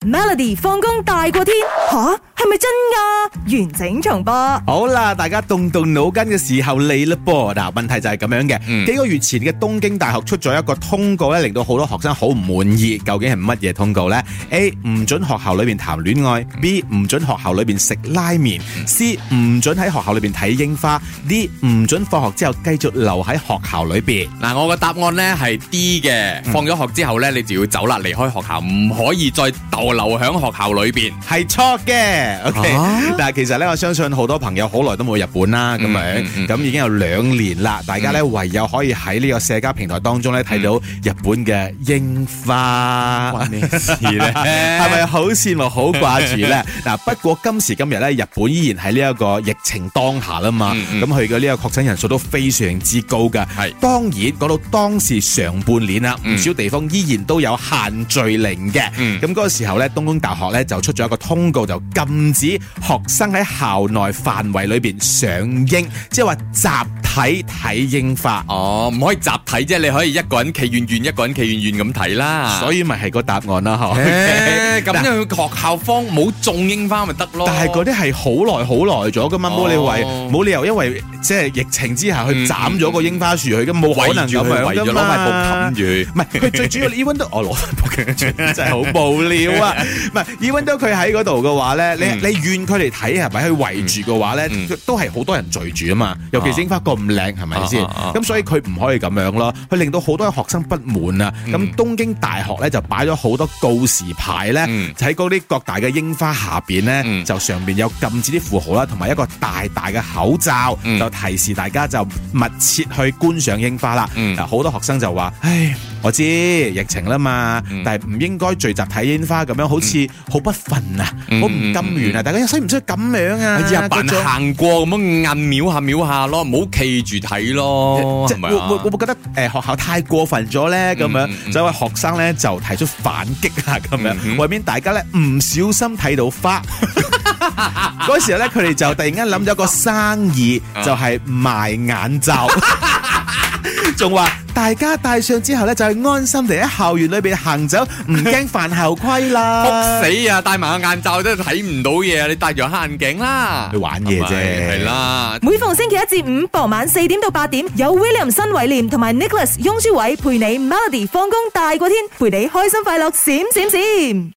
Melody 放工大過天吓，係咪真㗎？完整重播。 好啦，大家動腦筋嘅時候嚟啦噃。嗱，問題就係咁樣嘅。幾個月前嘅東京大學出咗一個通告咧，令到好多學生好唔滿意。究竟係乜嘢通告呢？ A 唔准學校裏邊談戀愛， B 唔准學校裏邊食拉麵， C 唔准喺學校裏邊睇櫻花， D 唔准放學之後繼續留喺學校裏邊。 嗱，我個答案咧係 D 嘅。放咗學之後咧，你就要走啦，離開學校，唔可以再逗留喺學校裏邊。 係錯嘅。OK，但係其實咧，我相信好多朋友好耐都冇日本啦，咁樣咁已經有2年啦。大家咧唯有可以喺呢個社交平台當中咧睇到日本嘅櫻花。關咩事咧？係咪好羨慕、好掛住咧？嗱，不過今時今日咧，日本依然喺呢一個疫情當下啦嘛。咁佢嘅呢個確診人數都非常之高㗎。係當然講到當時上半年啦，唔少地方依然都有限聚令嘅。咁嗰個時候咧，東京大學咧就出咗一個通告，就禁止學生喺校內範圍裏邊賞櫻，即係話集體睇櫻花。 哦，唔可以集體啫，你可以一個人企遠遠，一個人企遠遠咁睇啦。 所以咪係個答案啦，嗬。 咁樣去學校方冇種櫻花咪得咯。 但係嗰啲係好耐咗噶嘛，冇理由因為即係疫情之下去斬咗個櫻花樹去，咁冇可能咁樣噶嘛。 圍咗攞塊布冚住， 唔係佢最主要 even 都我攞塊布冚住，真係好無聊啊！唔係 even 都佢喺嗰度嘅話咧，你遠距離睇係咪去圍住嘅話咧，都係好多人聚住啊嘛。尤其是櫻花咁靚，係咪先？咁所以佢唔可以咁樣咯，佢令到好多學生不滿啊。咁東京大學咧就擺咗好多告示牌咧，喺嗰啲各大嘅櫻花下邊咧，就上邊有禁止啲符號啦，同埋一個大大嘅口罩，就提示大家就密切去觀賞櫻花啦。嗱，好多學生就話：唉，我知疫情啦嘛，但係唔應該聚集睇櫻花咁樣，好似好不忿啊，好唔甘願啊！大家使唔使咁樣啊？ 日扮行過咁樣按瞄下咯，唔好企住睇咯。 即係會覺得學校太過分咗咧？咁樣，所以學生咧就提出反擊啊！咁樣，為免大家咧唔小心睇到花。嗰時候咧，佢哋就突然間諗咗個生意，就係賣眼罩，仲話大家戴上之後咧，就係安心地喺校園裏邊行走，唔驚犯校規啦。 仆死啊！戴埋個眼罩都睇唔到嘢，你戴住黑眼鏡啦， 去玩嘢啫。 係啦。 每逢星期一至五傍晚4點到8點，有 William 新偉廉同埋 Nicholas 雍舒偉陪你 Melody 放工大過天，陪你開心快樂閃閃閃。